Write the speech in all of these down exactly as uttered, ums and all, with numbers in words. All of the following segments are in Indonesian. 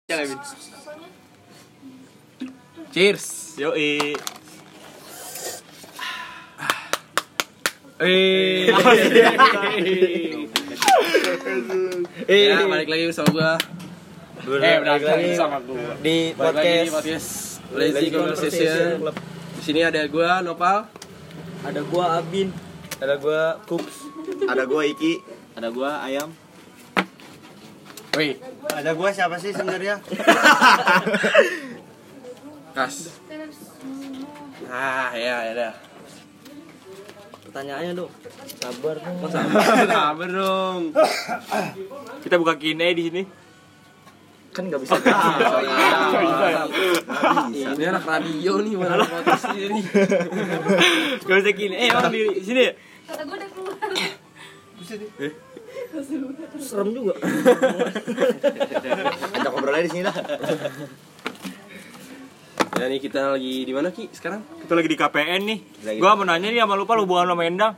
Cheers. Yoi. Eh. Eh, balik lagi bersama gua. Eh, balik lagi sama gua Di podcast, podcast Lazy Conversation. Di sini ada gua Nopal, ada gua Abin, ada gua Kups, ada gua Iki, ada gua Ayam. woi, ada gua siapa sih sebenarnya? Kas. Ah, ya, ya dah. pertanyaannya dong. Sabar dong. Masa sabar dong. Kita buka Q and A di sini. Kan nggak bisa. Oh iya. Ini anak radio nih, mana anak podcast ini. Gak bisa Q and A, eh, emang di sini. Kata gue udah keluar. Serem juga. Ajak ngobrolnya di sini lah. Ya nih kita lagi di mana Ki sekarang? Kita lagi di K P N nih. Lagi. Gua mau nanya nih sama lupa hubungan sama Endang.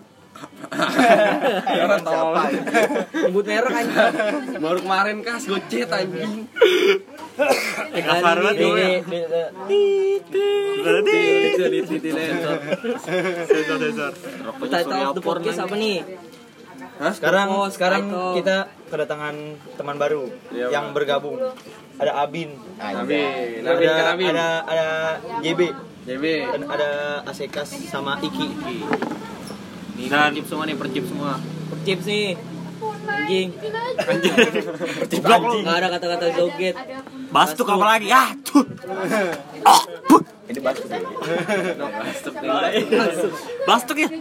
Siapa? Nyebut merek aja. Baru kemarin Kas gocet anjing. Eh, kasar banget Di- gue. di- di- Berarti. Itu di T V sensor. Sensor sensor. Title of the podcast apa nih? Hah? Sekarang Oh, sekarang title. kita kedatangan teman baru Iya, yang Bang. bergabung. Ada Abin, Nabin, ada Nabin kan Nabin. ada ada J B J B. dan ada Asekas sama Iki. Dan Percip semua nih, percip semua. Chips nih. Anjing. Blok lu. Enggak ada kata-kata joget. Bastuk apa lagi? Ah, tuh. Ini batu. No, bastuk nih. Bastuk ya.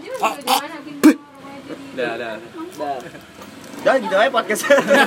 Dah, dah. Dah. Jangan gitu aja podcast.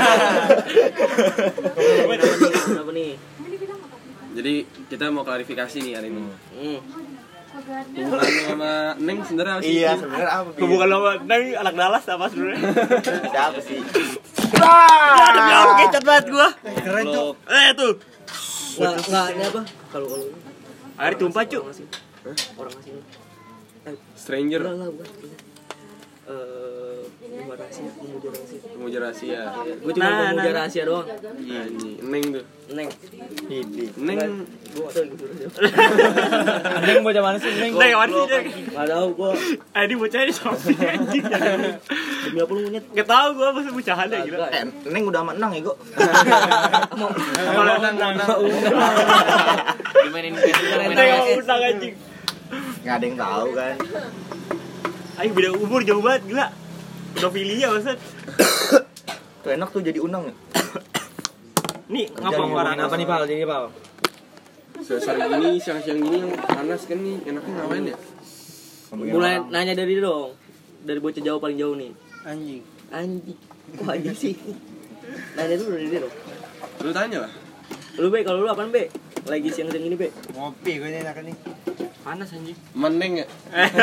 Kenapa nih? Jadi kita mau klarifikasi nih hari ini. Hmm. Hubungan lu sama Neng sebenarnya apa sih? Iya, sebenarnya apa? Bi? Hubungan lo sama Endang anak Dallas apa sebenarnya? Siapa sih? Ah, demi Allah kecot banget gua. Keren tuh. Eh tuh. Enggak enggak ini apa? Kalau kalau Air tumpah, Cuk. orang asing. Orang asing. Stranger, Enggak enggak bukan. Eh, memuja rahasia, memuja rahasia. pemuja rahasia. Gue cuma Nah, memuja nah. rahasia doang. Anjing, Neng tuh. Neng. Ini. Neng Gue gak tau gitu. Neng bocah mana sih Neng? Neng, mana sih, Neng? Gak tau gue. Eh, ini bocah ini sopi anjing. Demi apa lu monyet? Enggak tahu gua masa bocahan ya gila. Eh, Neng udah sama Nang ya, Go? Kalau Nang Nang dimainin Neng mau undang anjing. Nggak ada yang tahu kan. Ayo beda umur jauh banget gila. Pedofilia maksud. Tuh enak tuh jadi unang ya. Nih, Jadi ngapa ngomongin orang apa nih Pal? Jadi Pal. Sore gini, siang-siang gini yang panas kan nih, enaknya ngapain ya? Mulai nanya dari dong. Dari bocah jauh paling jauh nih. Anjing. Anjing. Kok anjing sih? Nanya dulu dari dia dong. Lu tanya lah. Lu Be, kalau lu apaan Be? Lagi siang-siang ini Be? Ngopi gue ini enak nih. Panas anjing. Meneng ya?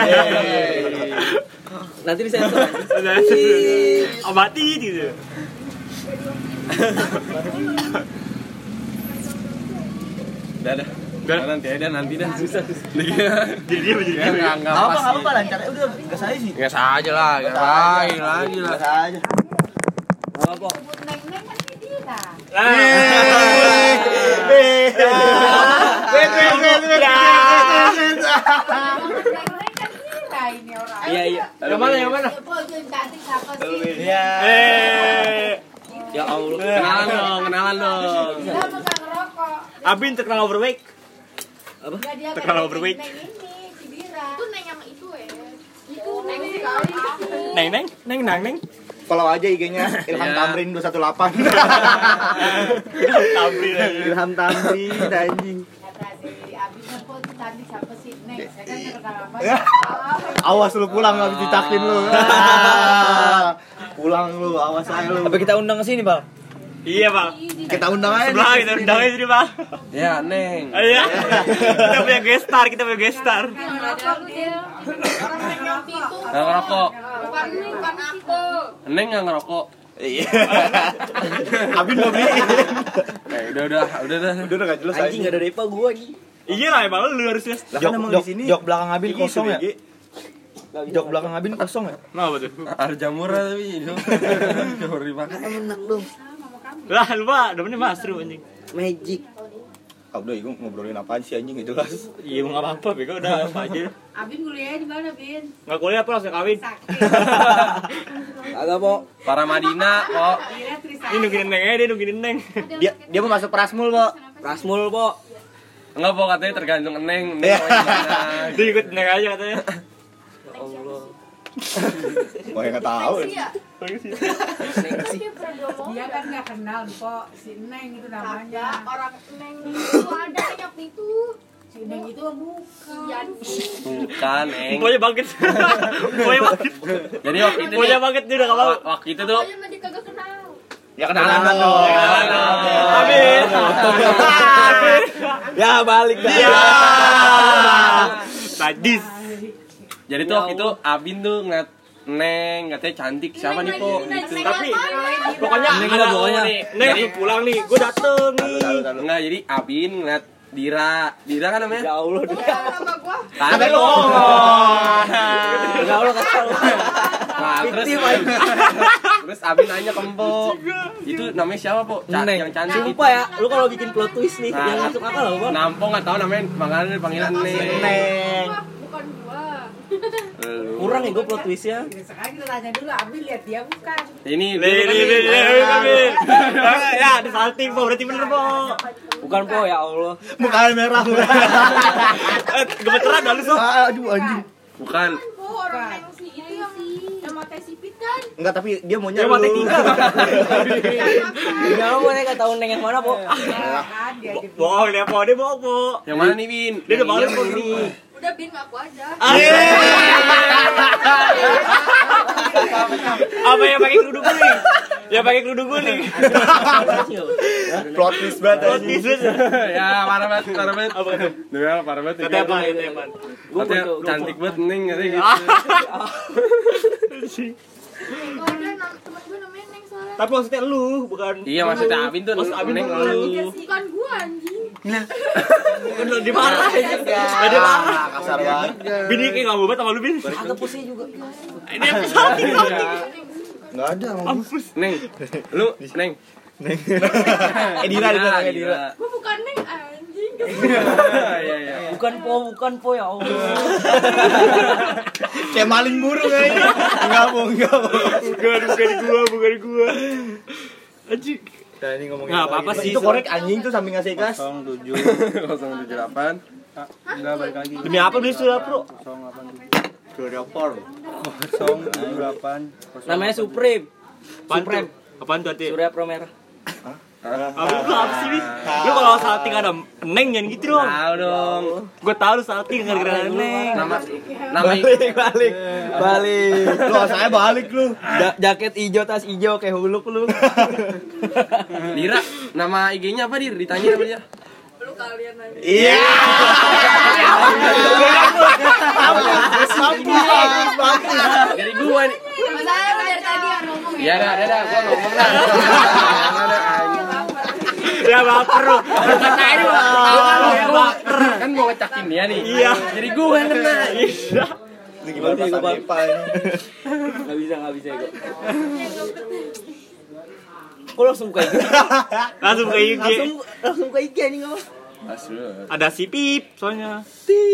Nanti disensor anjing. Abati gitu. Udah dah. Udah nanti aja nanti dah. Susah. Jadi dia menjadi Ya enggak enggak Apa pas. apa apa lancar. Eh, udah gas aja sih. Gas aja lah, gas lagi lagi lah. Gas aja. Gak apa. Neng-neng kan dia dah. Wait, wait, wait, wait. Neng-neng kan dia ini orang. Iya iya. Yang mana yang mana? Ibu yang cantik siapa sih? Iya. Eh, Ya Allah. Kenalan dong, kenalan dong. Dia mau gak ngerokok. Abin terkenal overweight. Apa? Enggak dia Terkenal kayak overweight. Neng ini, Cibira. Itu Neng yang itu ya. Itu Neng sekali. Neng neng neng nang neng. Follow aja I G-nya Ilham Iya. Tamrin dua satu delapan. Tamrin aja. Ilham Tamrin anjing. Kata si Abis kok itu cantik siapa sih? Neng, saya kan terkenal apa? Awas lu pulang habis ditakin lu. Pulang lu, awas aja lu. Apa kita undang ke sini Pal? Iya Bang. Kita undang aja. Sebelah kita undang aja sini Bang. Ya, Neng. Iya. Kita punya guest star, kita punya guest star. Ngerokok lu dia. Orang Neng yang itu. Enggak ngerokok. Bukan bukan aku. Neng enggak ngerokok. Iya. Abin mau beli. Eh, udah udah, udah dah. Udah enggak jelas Anjing gak ada repa gua anjing. Iya lah emang lu harusnya. Lah Jok, kan emang jok, di sini. jok belakang Abin Iki kosong ya? S B G. Jok belakang Abin kosong ya? Kenapa tuh? Arjamura tapi itu. Jauh dimakan. Enak dong. Lah lupa, demennya Mas Ru anjing. Magic. Ah udah, gue ngobrolin apaan sih anjing itu jelas. Iya mau nggak apa-apa, bego udah apa aja. Abin kuliahnya di mana, Bin? Nggak kuliah apa langsung kawin. Sakit. Agak, Po. Para Madinah kok. Akhirnya Trisakti. Ini nungguin neng aja, dia nungguin neng. Dia dia mau masuk Prasmul, Po. Prasmul, Po. Enggak, po, katanya tergantung Neng. Neng mau gimana. Dia ikut neng aja katanya. Ya Allah. Gua enggak tahu. Iya. Dia kan nggak kenal kok si Neng itu Ada namanya. orang Neng itu ada yang waktu itu. Si Neng itu bukan. Iya. Bukan, Neng. Pokoknya bangkit. Pokoknya bangkit. Jadi waktu itu Pokoknya nih, bangkit dia udah gak mau. wa- waktu itu tuh Pokoknya mah dia kagak kenal. Ya kenalan dong. kenalan dong. Amin. Amin. Ya balik dah. Iya. Sadis. Jadi tuh waktu itu Abin tuh ngeliat Neng, katanya cantik. Siapa nih, Po? Gitu. Tapi pokoknya Neng ada lah pokoknya. nih. Neng Jadi- aku pulang nih, gue dateng nih. Enggak, jadi Abin ngeliat Dira. Dira kan namanya? Ya Allah. Sama gua. Kan lo. Ya Allah kata lu. Nah, terus terus Abin nanya ke Empo, itu namanya siapa, Po? Ca- Neng. yang cantik itu. Lupa ya, lu kalau bikin plot twist nih, Nah. yang masuk akal loh, Bang. Nampo nggak tahu namanya, makanya panggilan Neng. Neng. Bukan gua. Lu. Kurang ya gue plot twistnya. Sekarang kita tanya dulu, Abi lihat dia bukan. Ini Nih, nih, nih, nih, nih, nih. Ya, ada salting, Po. Berarti bener, Po. Bukan, Po, ya Allah. Mukanya merah. Eh, gemeteran dah lu, So. Aduh anjing. bukan. Po orang Neng si itu yang yang mata sipit kan. Enggak, tapi dia maunya Dia lu. mati tiga. Ya Allah, gue nggak tahu Neng yang mana, Po. Kan dia di Bohong dia, Po. Dia bohong, Po. Yang mana nih, Bin? Dia udah Yang balik, iya, Po. ini. Udah Bin ngaku aja. Apa yang pakai kerudung kuning? Yang pakai kerudung kuning. Plot twist banget. Plot anjing. twist. Ya, parah banget, parah banget. Apa itu? Duel, parah banget. Katanya apa? Katanya apa? Katanya cantik banget Neng, katanya gitu. Kalau ada nam- temen gue namanya Neng soalnya. Tapi maksudnya lu, bukan. Iya, maksudnya Abin tuh Maksud Abin Neng tuh lu. Bukan gua anjing. Bener dimarahin. Gak dimarah. Kasar banget. Bini kayak gak mau banget sama lu, Bin. Ada pusing juga. Ini yang salting, salting. Enggak ada ngomong. Neng, lu Neng. Eh Dira, Dira, Dira. Dira. Gua bukan Neng anjing. Iya, iya. Bukan, Po, bukan, Po, ya Allah. Kayak maling burung kayaknya. Enggak, mau, enggak, mau. Bukan, bukan gua, bukan gua. Anjing. Nah, ini ngomongin Nggak apa-apa sih. Itu korek anjing tuh samping ngasih gas. nol tujuh nol tujuh delapan. Enggak balik lagi. Demi apa beli sudah, Bro? Surya Por. nol tujuh delapan. Namanya Supreme. Apaan Supreme. tuh? Apaan tuh, Ati? Surya Pro Merah. Apa lu apa sih, Bin? Lu kalau salting ada Neng jangan gitu dong. Tahu dong. Gua tahu lu salting gara-gara ada Neng. Nama nama Balik, balik, balik. Lu saya balik lu. Ja- jaket hijau, tas hijau kayak huluk lu. Dira, nama I G-nya apa, Dir? Ditanya sama dia. Lu kalian aja. Iya. Dari gua nih. Masalahnya lu dari tadi yang ngomong ya. Ya dah, dah, dah, gua ngomong dah. Ya baper lu. Katain lu. Ya baper. Kan mau ngecakin dia nih. Iya. Jadi gua yang kena. Iya. Ini gimana pas Depa ini? Gak bisa, gak bisa gue. Kok langsung buka I G? Langsung ke I G. Langsung, langsung ke I G nih kamu. Asli. Ada si Pip soalnya.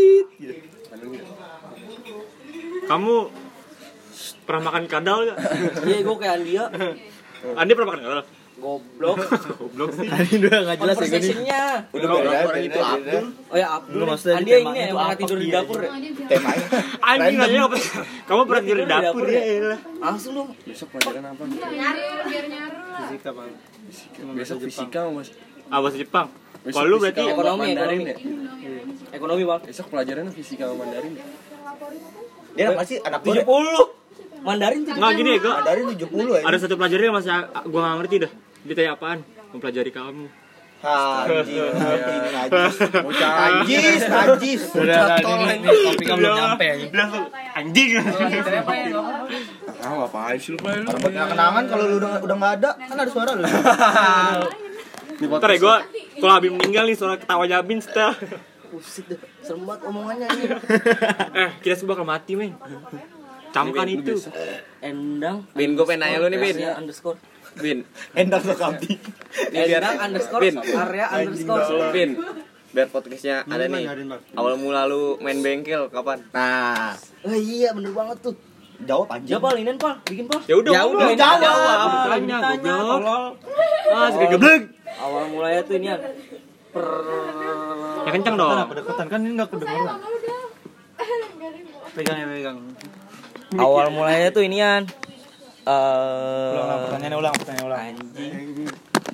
Kamu pernah makan kadal gak? Iya, gue kayak Andia. Andi pernah makan kadal? Goblok. Goblok sih. Ini udah enggak jelas ya gini. Conversation-nya. Udah beda itu Abdul. Oh ya, Abdul. Lu maksudnya di Andia temanya ini yang itu pernah apa tidur di dia? dapur ya? Temanya. Anjing aja apa? Kamu pernah tidur di dapur ya? Langsung dong. Besok pelajaran apa? Nyaru, biar nyaru lah. Fisika, Bang. Besok fisika, Mas. Ah, bahasa Jepang. Besok Kalau lu fisika berarti sama ekonomi, Mandarin ekonomi. ya? Ekonomi, Bang. Besok pelajarannya fisika sama Mandarin. Dia masih anak tujuh gue. puluh. Mandarin tujuh puluh. enggak gini ya, gua. Dari tujuh puluh ya. Ada satu pelajaran yang masih gua enggak ngerti dah. Ditanya apaan? Mempelajari kamu. Anjing, anjing, najis. Bocah najis, najis. Udah, Bocah udah, tol ini- anjing. Topiknya belum nyampe anjing. Langsung anjing. Ah, ngapain sih lu, Pak? Orang buat kenangan kalau lu udah udah enggak ada, kan ada suara lu. Ntar ya gua kalau Abim meninggal nih suara ketawanya Abim setel. Buset dah. Serem banget omongannya ini. Eh, kita semua bakal mati, men. Camkan itu. Endang. Bin, gua pengen nanya lu nih, Bin. Underscore. Bin. Endang Sokabdi. Ini biar Endang underscore Bin. area underscore. Bin. Biar podcastnya ada nih. Awal mula lu main bengkel kapan? Nah, Oh iya bener banget tuh. jawab anjing. Ya Pal, ini Pal, bikin Pal. Ya udah, Ya udah, ngomong. jawab. Tanya, Tanya, goblok. tolol. Ah, segede geblek. Awal mulanya tuh ini per Ya kenceng dong. Kedekatan kan ini enggak kedengeran. Pegang ya pegang. awal mulanya tuh inian. Eh Ulang ulang pertanyaannya ulang pertanyaannya ulang. anjing.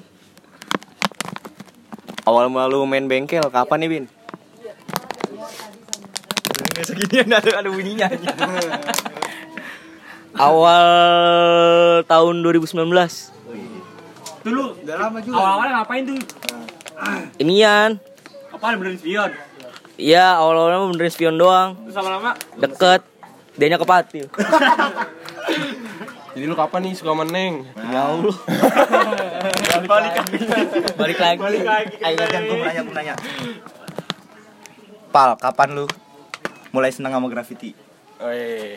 Awal mula lu main bengkel kapan nih, Bin? Enggak seginian ada ada bunyinya. Awal tahun dua ribu sembilan belas. Dulu Udah lama juga. awal-awalnya ngapain tuh? Inian. Apa benerin spion? Iya, awal-awalnya benerin spion doang. Terus lama-lama Deket. Dianya ke Patil. Jadi lu kapan nih suka meneng? Ya Allah. balik lagi. Balik lagi. Balik lagi. Ayo kan gue mau nanya, gue nanya. Pal, kapan lu mulai senang sama graffiti? Weh.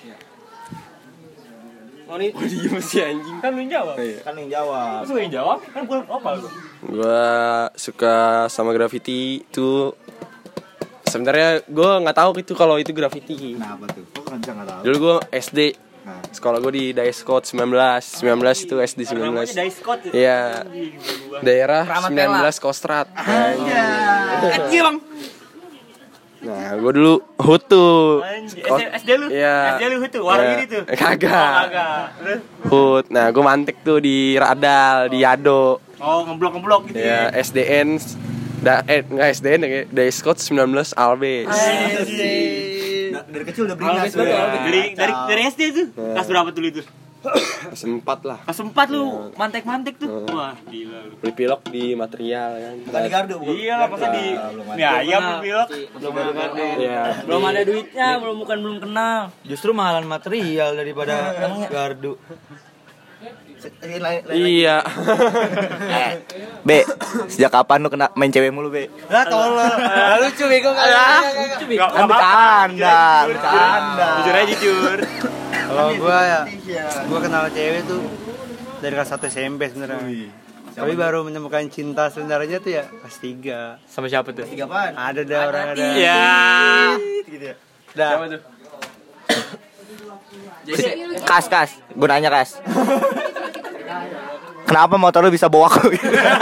Oh nih. Diem sih anjing. Kan lu yang jawab. Kan yang jawab. Terus lu yang jawab? Kan gua apa lu? Gua suka sama graffiti itu sebenarnya gue nggak tahu itu kalau itu graffiti. Nah, apa tuh? Kok kan nggak tahu? Dulu gue S D. Nah, Sekolah gue di Daeskot sembilan belas. sembilan belas itu S D sembilan belas. Namanya Dice Code. Iya. Daerah Keramat sembilan belas Kostrad. Anjir, Bang. Nah, gue dulu Hutu. Anjir, S D lu? Iya. S D lu itu, warung Iya. ini tuh. Kagak. Oh, kagak. Terus? Hut. Nah, gue mantek tuh di Radal, di Yado. Oh, ngeblok-ngeblok gitu Ya, ya. S D N da eh enggak S D N ya, Daeskot sembilan belas Albes. Nah, dari kecil udah beringas. Albes betul, Albes. Dari dari dari S D tuh. Kelas berapa dulu itu? Kelas empat lah. Kelas empat lu mantek-mantek tuh. Wah, gila lu. Beli pilok di material kan. Bukan di Gardu, bukan. Iya lah, masa di belum ada. mie ayam lu pilok. Belum ada. Iya. Belum ada duitnya, belum bukan belum kenal. Justru mahalan material daripada gardu. Iya. Eh, B, sejak kapan lu kena main cewek mulu, B? Lah tolol. Lah lucu bego kan. Gak Kan bercanda, bercanda. Jujur aja jujur. Kalau gua ya, gua kenal cewek tuh dari kelas satu S M P sebenarnya. Tapi baru menemukan cinta sebenarnya tuh ya kelas tiga. Sama siapa tuh? Tiga apaan? Ada dah orang ada. Iya. Gitu ya. Dah. Siapa tuh? Kas, kas. Gue nanya, kas. Kenapa motor lu bisa bawa aku?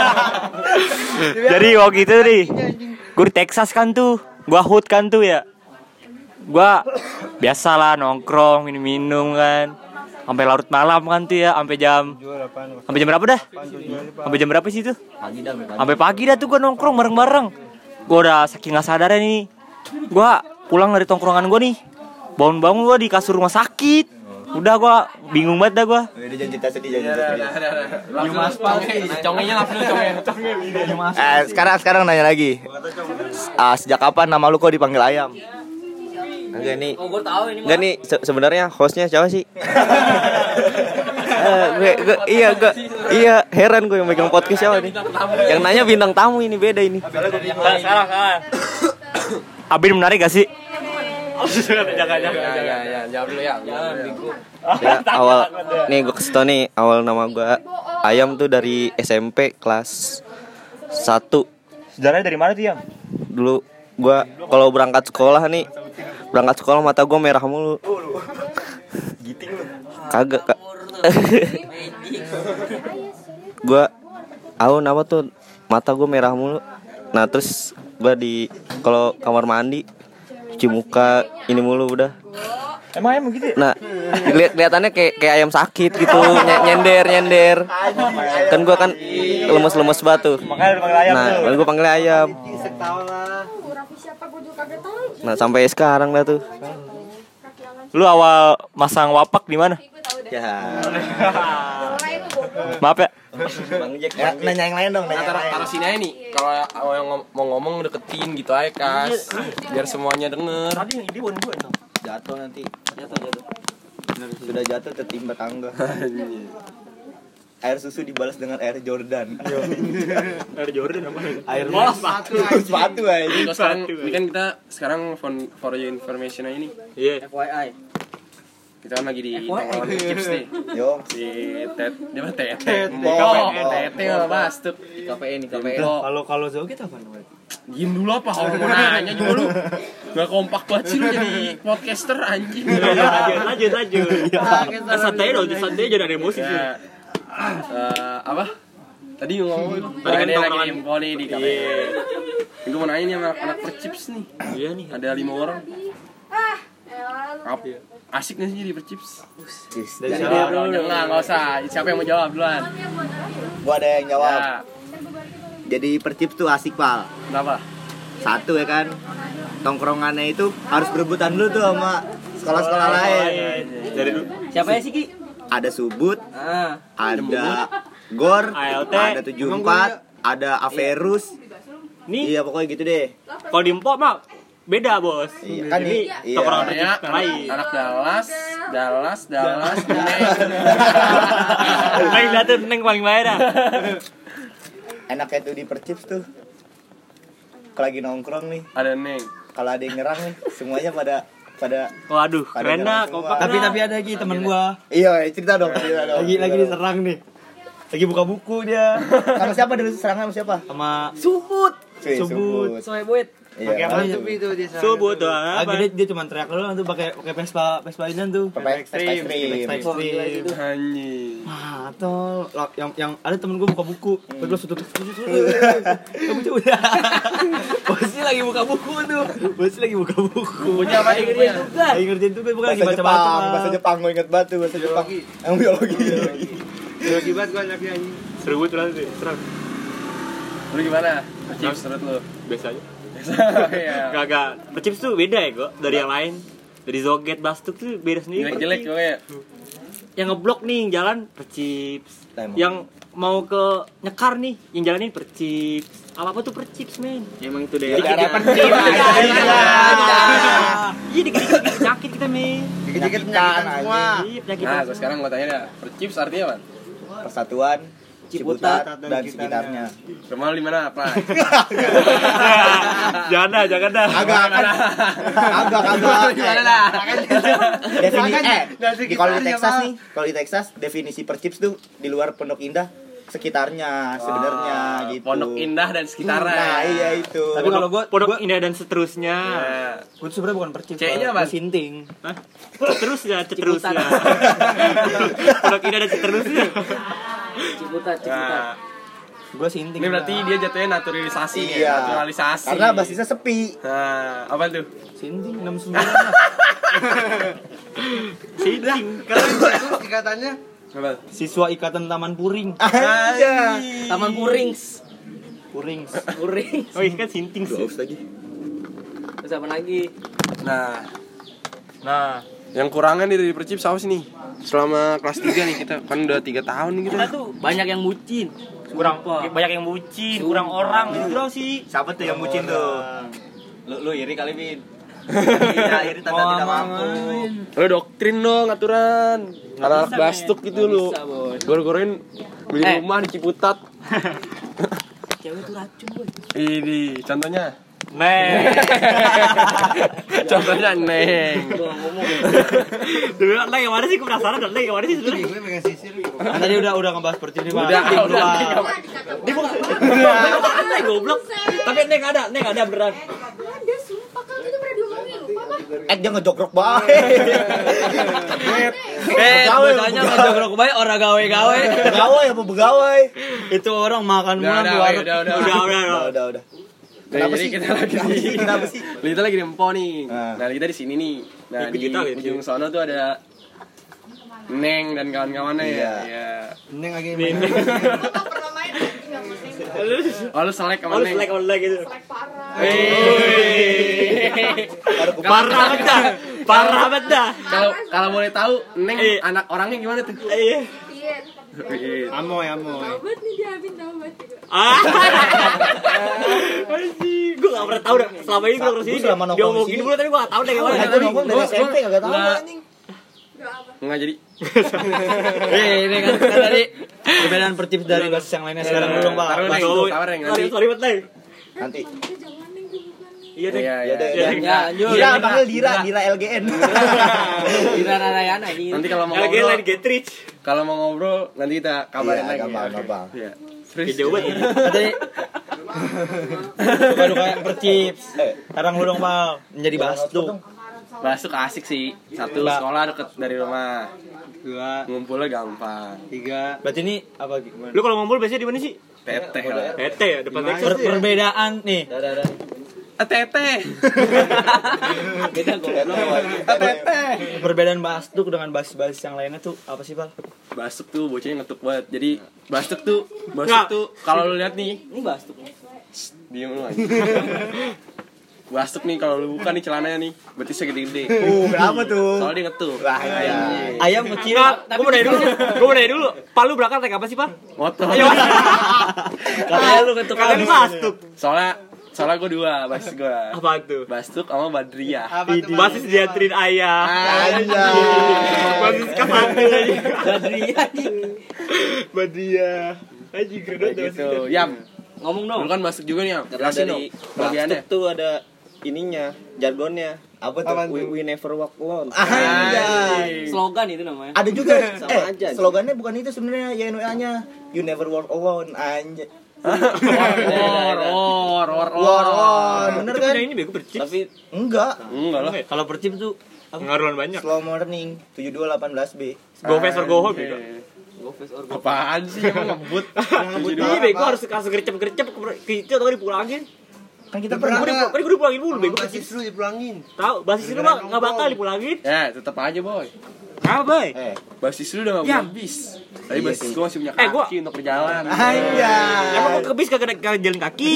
Jadi waktu itu nih, gue di Texas kan tuh, gue hood kan tuh ya. Gue biasa lah nongkrong, minum-minum kan, sampai larut malam kan tuh ya, sampai jam, sampai jam berapa dah? Sampai jam berapa sih tuh? Sampai pagi dah tuh gue nongkrong bareng-bareng. Gue udah saking nggak sadarnya nih, gue pulang dari tongkrongan gue nih, bangun-bangun gue di kasur rumah sakit. Udah gue bingung banget dah gue. Udah jangan cerita sedih, jangan cerita sedih. Mas Congenya langsung congenya. Eh, sekarang sekarang nanya lagi. Ah, sejak kapan nama lu kok dipanggil ayam? Enggak nih. Oh, gue tahu ini. Enggak nih, se- sebenarnya hostnya siapa sih? Eh, gue, gue, iya, gue, iya, heran gue yang megang podcast siapa nih? Yang nanya bintang tamu ini beda ini. Sekarang, sekarang. Abin menarik gak sih? Jangan, jangan, Ya, ya, ya, jawab dulu ya. Ya, awal nih gue kasih tau nih, awal nama gue Ayam tuh dari S M P kelas satu. Sejarahnya dari mana tuh yang? Dulu gue kalau berangkat sekolah nih, berangkat sekolah mata gue merah mulu. Giting lu. Kagak kak. Gue aku nama tuh mata gue merah mulu. Nah terus gue di kalau kamar mandi cuci muka ini mulu udah. Emang emang gitu ya? Nah lihat kelihatannya kayak kayak ayam sakit gitu, ny- nyender nyender. Kan gue kan lemes lemes batu. Makanya dipanggil ayam Nah tuh. lalu gue panggil ayam. siapa gue juga kagak tahu. Nah sampai sekarang dah tuh. Lu awal masang wapak di mana? Ya. Maaf ya. Bang Jack, Ya, nanya yang lain dong, Nah, nanya yang taruh, lain. taruh sini aja nih. Kalau yang ngom- mau ngomong deketin gitu aja, Kas. Biar semuanya denger. Tadi yang ide bukan gue dong. Jatuh nanti. Jatuh jatuh. Sudah jatuh tertimpa tangga. Air susu dibalas dengan air Jordan. Ada Jordan apa? Air sepatu. Sepatu aja. Ini sekarang, ini kan kita sekarang for, for your information aja nih. Iya. F Y I. Kita kan lagi di tongkrongan chips nih. Yo. Di tet, dia mah tete. Di Oh, K P N, oh. tete lah Bastuk. Di K P N, di K P N. Kalau kalau Zoget apa namanya? Diem dulu apa? Orang mau nanya juga lu. Gak kompak banget sih lu jadi podcaster anjing. lanjut lanjut lanjut Eh, santai dong santai aja ada emosi sih. Ya, eh, apa? Tadi ngomong Tadi kan ini lagi tongkrongan. info nih di K P N. Gue mau nanya nih sama anak percips nih. Iya nih Ada lima orang. Ah, elah, lu. Ap, asik gak sih jadi percips? Dari Jangan, jangan, nggak usah. Siapa yang mau jawab duluan? Gua ada yang jawab. Ya, Jadi percips tuh asik, Pal. kenapa? Satu ya kan. Tongkrongannya itu harus berebutan dulu tuh sama sekolah-sekolah lain. Dari dulu. Siapa ya sih Ki? Ada Subut, Ah, ada Gor, A L T. ada tujuh puluh empat, ada Averus. nih Iya, pokoknya gitu deh. kalau di Empok mah beda bos. Iya, kan Jadi iya. tongkrongan Namanya percips yang lain. anak Dallas, Dallas, Dallas, Neng. Paling dateng neng paling bayar dah. Enaknya tuh di percips tuh. Kalau lagi nongkrong nih, Ada Neng. kalau ada yang nyerang nih, semuanya pada pada Waduh Pada keren dah jalan kompak. Tapi dah. tapi ada lagi teman gua. iya, cerita dong, cerita dong. Lagi lagi diserang nih. Lagi buka buku dia Sama siapa dulu serangan sama siapa? sama Subut. Cuy, Subut. soe buit. Iya. apa itu dia Subuh tuh Ah, apa? dia, dia cuma teriak doang tuh pakai pakai Vespa Vespa ini tuh. Pepek ekstrim. Vespa ekstrim. Anjing. Ah, tol. Lah, yang yang ada temen gue buka buku, terus tutup tutup. Kamu coba. Bosnya lagi buka buku tuh. Bosnya lagi buka buku. Punya apa nih punya? Lagi ngerjain tuh bukan lagi Bahasa baca-baca. Jepang, bahasa Jepang gue inget banget tuh bahasa Jepang. Yang biologi. Biologi banget gua anaknya anjing. Seru banget nanti. Serang. Lu gimana? Percips menurut lu? Biasa aja. Iya. Gak percips tuh beda ya kok dari yang lain. Dari Zoget Bastuk tuh beda sendiri. Jelek-jelek Percips. pokoknya. Yang ngeblok nih jalan percips. Emang. Yang mau ke nyekar nih yang jalanin percips. Apa apa tuh percips men. Emang itu Ya, deh. daerah percips. Iya dikit-dikit penyakit kita men. Dikit-dikit penyakitan semua. Iya penyakit. Nah, gue sekarang mau tanya dah. Percips artinya apa? Persatuan Ciputat dan sekitarnya. Rumah lu di mana? Apa? Jangan dah, jangan dah. Agak agak agak agak. Gimana dah? Definisi eh di kalau di Texas nih, kalau di Texas definisi percips tuh di luar Pondok Indah sekitarnya sebenarnya gitu. Pondok Indah dan sekitarnya. Nah, iya itu. Tapi kalau gua Pondok gua, Indah dan seterusnya. Ya. gua tuh sebenarnya bukan percips. C-nya Pak. apa? Gua sinting. Hah? Seterusnya, seterusnya. Pondok Indah dan seterusnya. Ciputat, Ciputat. Nah, Gua sinting. ini berarti dia jatuhnya naturalisasi Iya. ya, naturalisasi. Karena basisnya sepi. Nah, apa tuh? sinting enam puluh sembilan lah. Siding. Itu ikatannya Apa? siswa ikatan Taman Puring. Aja. Taman Purings. Puring. Puring. Oh ini kan sinting sih. lagi. Terus apa lagi? Nah, Nah, yang kurangan nih dari percips apa sih nih? Selama kelas tiga nih kita kan udah tiga tahun nih kita. Kita tuh banyak yang bucin. kurang banyak yang bucin, kurang orang gitu doang sih. Siapa tuh yang bucin tuh? Lu lu iri kali, Bin. Iya, iri tanda tidak mampu. Lu doktrin dong aturan. Anak bisa, Bastuk men. gitu Nggak lu. bisa, Bos. Gor-gorin beli Eh. rumah di Ciputat. Cewek tuh racun, boy. Ini contohnya. Neng. Contohnya Neng. Gua ngomong. Dulu Neng yang mana sih? Gue penasaran dan Neng yang mana sih sebenarnya? Kan tadi udah udah ngebahas percips nih, Pak. Udah, Tim udah. dua. Dia bukan. Neng goblok. Tapi Neng ada, Neng ada beneran. Ada sumpah kan itu pernah diomongin lupa apa? Eh, dia ngejogrok banget. Eh, bocahnya ngejogrok bae ora gawe-gawe. Pegawai apa pegawai? Itu orang makan Udah, mulu udah, di warung. udah, udah. Udah, udah, Udah, udah, udah. Nah, Kenapa jadi sih? kita lagi Kenapa di sih? Kenapa sih? Kita lagi di Empo nih. Nah. Nah, kita di sini nih. Nah, Ikut di kita gitu. ujung sono tuh ada Neng dan kawan-kawannya ya. Iya. Iya. Neng lagi main. Gua nggak pernah main anjing sama Neng. Oh, lu selek sama Oh, lu Neng. selek online gitu. Selek parah. Hei. Baru ke Parah banget dah. Parah banget dah. Kalau kalau boleh tahu Neng Eh. anak orangnya gimana tuh? Iya. Iya. Iya. Amoy, amoy. Tahu banget nih dia Abin tahu banget juga. Ah. Anjing, gue gak pernah tahu dah. Selama ini gue terus ini Gua selama nongkrong dia di ngomongin sini. dulu tapi gue gak tahu deh gimana. Eh, gua nongkrong dari Gua- S M P kagak tahu gua- anjing. Enggak apa. Enggak jadi. Eh, ini kan kan tadi perbedaan percips dari basis yang lainnya sekarang dulu, Pak. Taruh, Pas Neng. dulu. Sabar, Neng, Sorry, nanti. sorry banget Neng. Nanti Kita jangan Neng dulu kan nih. Iya deh. Iya, Ya iya. udah, Iya, ya. Ya, lanjut. Dira panggil Dira, Dira L G N. Dira Narayana ini. Nanti kalau mau Lagi ngobrol, lagi Getrich. kalau mau ngobrol nanti kita kabarin Iya, lagi. gampang, ya. gampang. Iya. Kayak jauh banget. Tadi suka duka percips. Sekarang lu dong, Pal. Menjadi Bastuk. Basuk asik sih. Satu Mbak. sekolah deket dari rumah. Dua, Ngumpulnya gampang. tiga. Berarti ini apa gimana? Lu kalau ngumpul biasanya di mana sih? Teteh lah. P T ya, depan Texas Per- tuh ya. perbedaan nih. Eh, teteh. Beda goblok. Eh, teteh. Perbedaan Bastuk dengan basis-basis yang lainnya tuh apa sih, Pal? Basuk tuh bocahnya ngetuk banget. Jadi Basuk tuh, Basuk Nggak. tuh kalau lu lihat nih, Ini Bastuk. diem lu aja. Basuk nih kalau lu buka nih celananya nih, berarti segede-gede. Uh, berapa tuh? Soalnya dia ngetuk. Wah, iya. Ayam kecil. Enggak, gua mau nanya dulu. Gua mau nanya dulu. Pak lu berangkat naik apa sih, Pak? Motor. Katanya lu ketuk Katanya lu Bastuk. Soalnya soalnya gue dua, basis gue. Apa tuh? Bastuk sama Badriah. Basis dianterin ayah. Anjay. Basis ke satu aja. Badriah nih. Badriah. Aji keren Kayak gitu. Yam, Ngomong dong. lu kan masuk juga nih, Yam. Karena Jelasin dari dong Bastuk kelebihannya. tuh ada ininya, jargonnya. Apa tuh? We, we never walk alone. Anjay. Slogan itu namanya. Ada juga Sama eh aja. slogannya bukan itu sebenarnya Y N W A-nya. You never walk alone. Anjay. War, war, war, War on. Bener Itu kan? punya ini bego percip. Tapi Enggak. Enggak lah. Kalau percip tuh Pengaruhan banyak. Slow morning tujuh dua delapan belas B. Go fast or go home bego. Apaan sih emang ngebut? Iya bego harus harus gercep-gercep ke itu atau dipulangin. Kan kita Pernah pernah gue gue dipulangin dulu bego. Basis lu dipulangin. Tahu basis lu mah enggak bakal dipulangin. Ya, tetap aja, boy. Apa, Boy? eh Basis lu udah gak punya bis. Tapi Iya basis sih. gua masih punya Eh, gua- kaki untuk berjalan. anjay. Emang gua ke bis kagak kagak jalan kaki.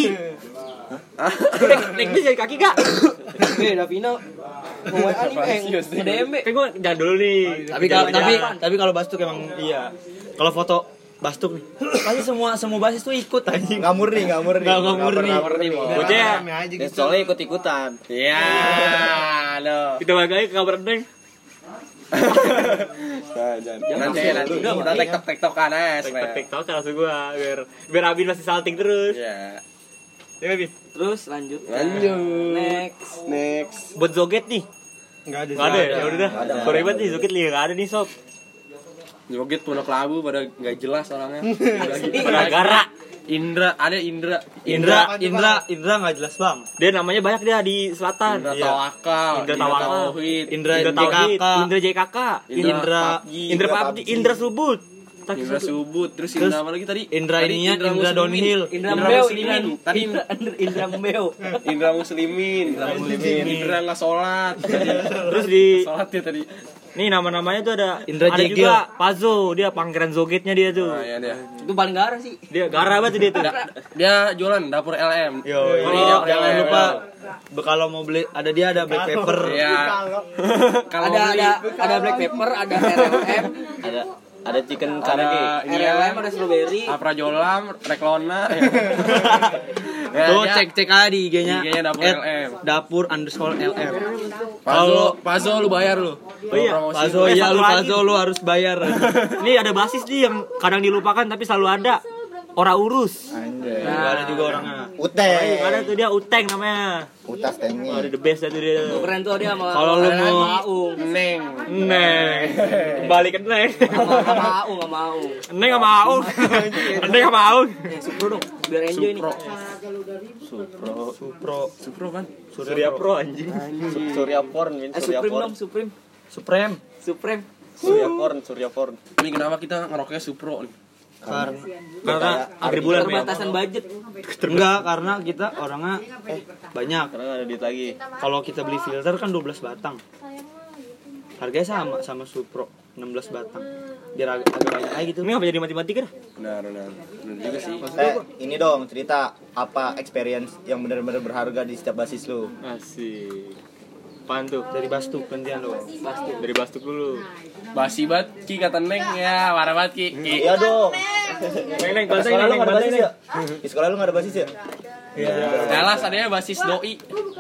Gua naik, naik bis jalan kaki gak? Eh, Davina mau W A nih, eh, nge-D M B. Kan gua jalan dulu nih. tapi kalau tapi tapi kalau Bastuk emang iya. Kalau foto Bastuk nih, pasti semua semua basis tuh ikut anjing. Nggak murni, nggak murni. Nggak- nggak murni. Nggak murni, Boy. Bocah. Rame aja dan gitu. soalnya ikut-ikutan. Iya, lo. Kita balik lagi ke kabar Neng. Nah, jangan. Nanti nanti udah tektok tektokan aja. sebenarnya. TikTok langsung gua biar biar Abin masih salting terus. Iya. Ya Abin. Terus lanjut. Lanjut. Next. Next. Buat joget nih. Enggak ada. Enggak ada ya? Ya udah dah. Sorry banget nih joget nih enggak ada nih, sob. Joget Pondok Labu pada nggak jelas orangnya. Pada gara. Indra, ada Indra. Indra, Indra, Indra enggak jelas, Bang. Dia namanya banyak dia di selatan. Indra Iya. Tawakal. Indra Tawakal. Tauhid. Indra Indra J K K. Tauhid, Indra J K K, Indra Indra Pabji. Indra Pabji, Indra Subut. Tak Indra Subut. Subut. Terus Terus Indra apa lagi tadi? Indra Tadi ininya, Indra Muslimin. downhill. Indra Indra Mbeo, Muslimin. Indra Tadi Indra Indra Mbeo. Indra Muslimin. Indra Muslimin. Indra nggak sholat. Terus di Sholat ya tadi. nih nama-namanya tuh ada Indra ada Jegel. juga Pazo, dia pangeran zogetnya dia tuh. Nah, ya dia. Itu paling gara sih. Dia gara banget dia tuh. Dia jualan dapur L M. Yo, Ini oh, dapur jangan L M. lupa be- kalau mau beli ada dia ada black pepper. Iya. Kalau Ada beli ada ada black pepper, ada R L M, Ada ada chicken ada curry. ini R L ya. M ada strawberry. Aprajolam, Reklona. Ya, Tuh dia- cek cek aja di I G-nya. I G-nya dapur at L M. Dapur underscore L M. Pazo, Pazo lu bayar lu. Oh iya, Pazo Eh, iya satu lu lagi. Pazo lu harus bayar. Nih ada basis nih yang kadang dilupakan tapi selalu ada. Ora urus. Anjay. Enggak ada juga orangnya. Uteng. Ada tuh dia Uteng namanya. Utas Oh, tengnya. ada the best itu dia. Keren tuh dia sama Kalau lu mau Aung. Neng. Neng. Kembali ke Neng. Sama sama Aung, sama Aung. Neng sama Aung. Neng sama Aung. Eh, Supro dong, biar enjoy nih. Supro, Supro kan? Surya Pro anjing. Surya porn, min Eh, Surya Supreme porn. dong, Supreme. Supreme. Supreme. Surya porn, Surya porn. Tapi kenapa kita ngerokoknya Supro nih? Karena Karena akhir bulan ya. Terbatasan budget. enggak karena kita orangnya eh banyak. Karena nggak ada duit lagi. Kalau kita beli filter kan dua belas batang. Harganya sama sama Supro enam belas batang. Biar agak, agak banyak aja gitu. Ini apa jadi mati-mati kan? Benar, benar. Benar juga sih. Eh, ini dong cerita apa experience yang benar-benar berharga di setiap basis lu. Asik. Apaan tuh? Dari Bastuk gantian dong. Bastuk. Dari Bastuk dulu. Basi banget Ki kata Neng ya, parah banget Ki. Ki. Iya dong. Neng, neng, Di bantai sekolah lu neng, nggak ada bantai basis neng. ya? Di sekolah lu nggak ada basis ya? Dallas adanya basis doi.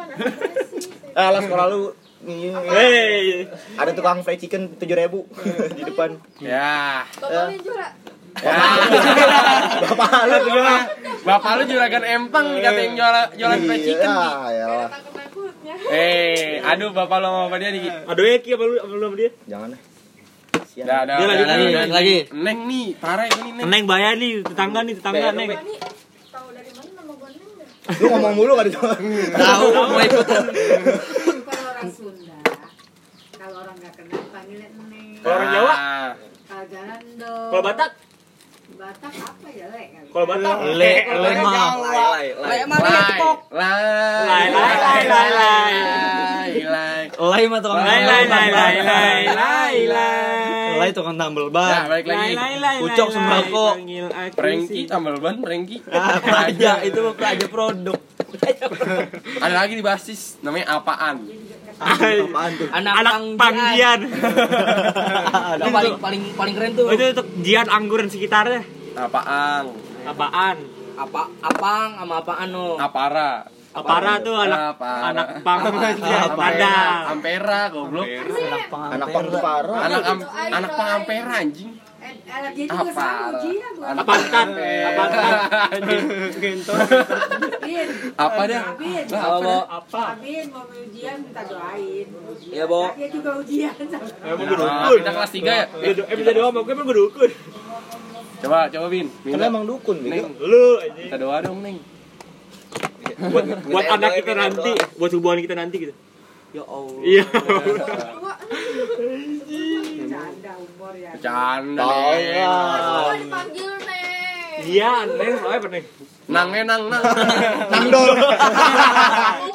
Ah, lah sekolah lu nih, Hey. ada tukang fried chicken tujuh ribu di depan. Ya. Totalnya juara. Bapak lu Bapak lu juragan empang dikatain jualan jualan fried chicken. Ya, ya. Takut-takutnya. Eh, aduh bapak lo sama dia nih. Aduh ya Ki apa lu apa lu sama dia? Jangan deh. Dah, dah. Dia lagi dah, nih, dah, lagi. Neng nih, parah ini Neng. Neng bayar nih, tetangga nih, tetangga Neng. Ini tahu dari mana nama gue Neng dah? Lu ngomong mulu kan itu. Tahu mau ikutan. Kalau orang Sunda, kalau orang nggak kenal panggilnya Neng. Kalau orang Jawa? Kalau jalan dong. Kalau Batak? Batak apa ya le? kali? Kalau Batak? Le, Kalau le Batak mah. Jawa. Le, le mah dia kok. Lai, Lai, lai, lai, lai, lai. lai. Le mah tukang Lai, lai, lai, lai, lai, lai, lai. Le tukang tambel Nah, ban. balik lagi. Lai, lai, lai, Ucok lai, sembako. lai, panggil aku Prengki sih. tambal ban, Prengki. Ah, praja itu mah praja produk. Ada lagi di basis namanya apaan? Apaan tuh? Anak, anak panggian. Yang paling paling paling keren tuh. Oh, itu untuk jian anggur dan sekitarnya. Apaan? Apaan? Apa apang sama apaan no? Apara. Apara tuh anak Apara. anak pang ada. Ampera goblok. Anak pang parah. Anak am, anak pang Ampera anjing. Eh, anak dia juga Apa? sama ujian gua. Apaan kan? Apaan kan? Bin. Apa dah? Bin. Lah, Apa, Bo? Apa? Bin mau ujian minta doain. Iya, Bo. Dia juga ujian. Emang Nah, berdukun. kita kelas tiga ya? Eh bisa doa sama gue emang berdukun. Coba, coba Bin. Kan Minta. emang dukun Neng, gitu. Lu aja. kita doa dong, Neng. Buat buat anak kita nanti, buat hubungan kita nanti gitu. Ya Allah. Iya. Canda umur ya. Bercanda, Tahu Neng. lah. Semua dipanggil Neng. Iya, Neng, soalnya apa Neng? Nang, eh, nang, nang. Nangdol.